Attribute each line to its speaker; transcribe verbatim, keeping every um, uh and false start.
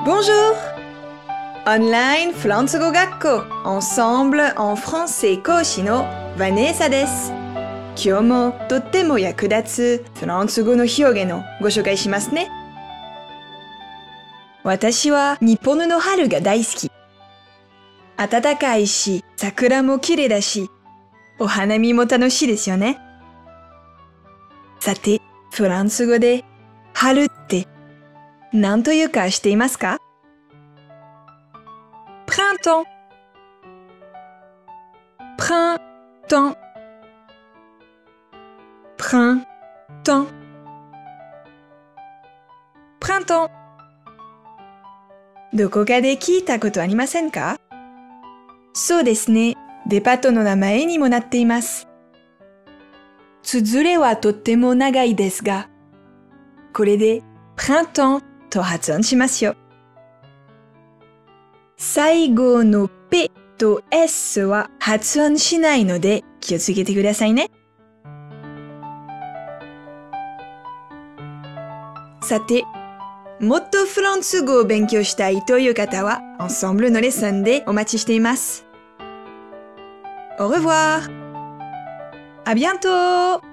Speaker 1: Bonjour! Online フランス語学校 Ensemble en français 講師のヴァネーサです。今日もとっても役立つフランス語の表現をご紹介しますね。私は日本の春が大好き。暖かいし、桜も綺麗だし、お花見も楽しいですよね。さて、フランス語で春って何というか知っていますか？ Printemps Printemps Printemps Printemps どこかで聞いたことありませんか？そうですね。デパートの名前にもなっています。綴りはとっても長いですが、これで Printemps と発音しますよ。最後の P と S は発音しないので気をつけてくださいね。さて、もっとフランス語を勉強したいという方は、Ensembleのレッスンでお待ちしています。Au revoir! À bientôt!